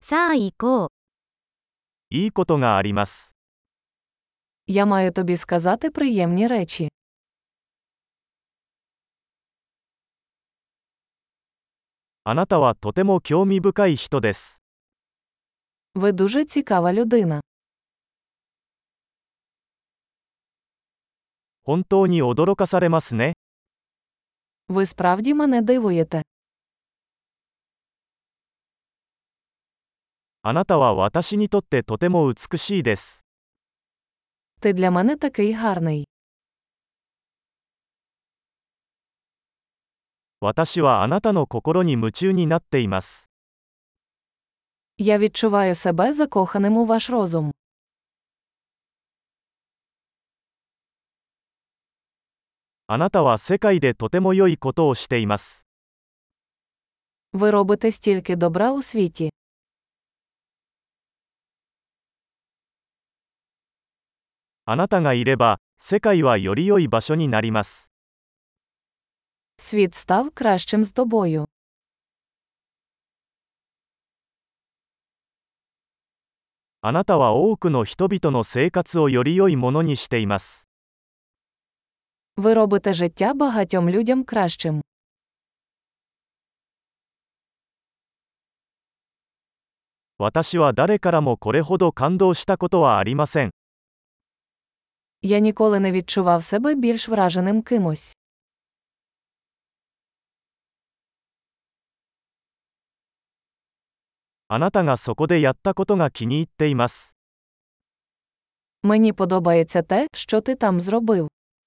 さあ行こう。 いいことがあります。 Я маю тобі сказати приємні речі. あなたはとても興味深い人です。 Ви дуже цікава людина. 本当に驚かされますね。 Ви справді мене дивуєте. あなたは私にとってとても美しいです。 Ти для мене такий гарний. 私はあなたの心に夢中になっています。 Я відчуваю себе закоханим у ваш розум. あなたは世界でとても良いことをしています。 Ви робите стільки добра у світі. あなたがいれば、世界はより良い場所になります。 Світ став кращим з тобою. あなたは多くの人々の生活をより良いものにしています。 Ви робите життя багатьом людям кращим. 私は誰からもこれほど感動したことはありません。 Я ніколи не відчував себе більш враженим кимось. あなたがそこでやったことが気に入っています。 Мені подобається те, що ти там зробив.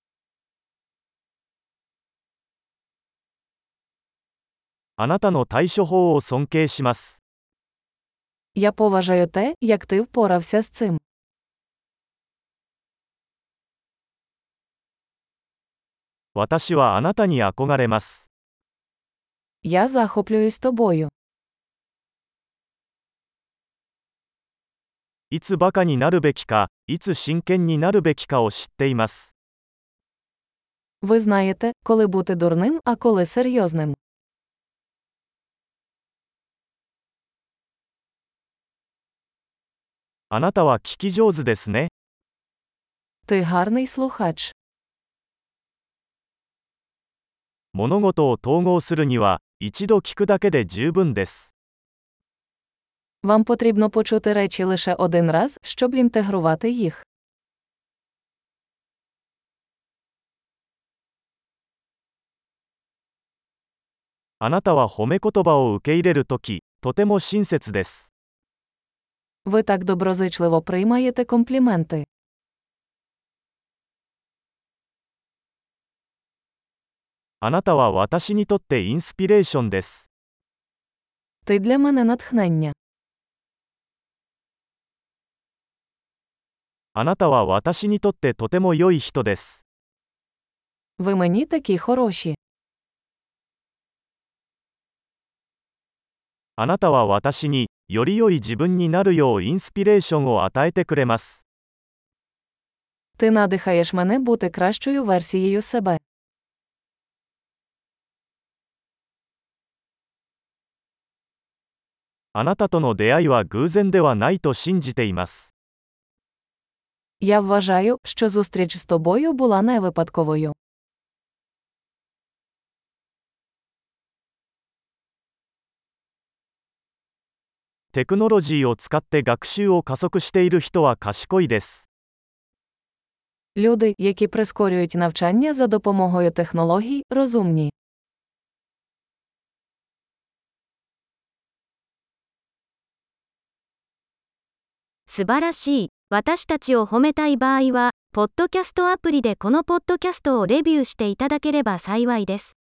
あなたの対処法を尊敬します。 Я поважаю те, як ти впорався з цим. 私はあなたに憧れます。 Я захоплююсь тобою. いつバカになるべきか、いつ真剣になるべきかを知っています。 Ви знаєте, коли бути дурним, а коли серйозним. あなたは聞き上手ですね。 Ти гарний слухач. 物事を統合するには、一度聞くだけで十分です。 Вам потрібно почути речі лише один раз, щоб інтегрувати їх. あなたは褒め言葉を受け入れるとき、とても親切です。 Ви так доброзичливо приймаєте компліменти. あなたは私にとってインスピレーションです。 Ти для мене натхнення. あなたは私にとってとても良い人です。 Ви мені такі хороші. あなたは私に、より良い自分になるようインスピレーションを与えてくれます。 Ти надихаєш мене бути кращою версією себе. あなたとの出会いは偶然ではないと信じています。 Я вважаю, що зустріч з тобою була не випадковою. テクノロジーを使って学習を加速している人は賢いです。 Люди, які прискорюють навчання за допомогою технологій, розумні. 素晴らしい。私たちを褒めたい場合は、ポッドキャストアプリでこのポッドキャストをレビューしていただければ幸いです。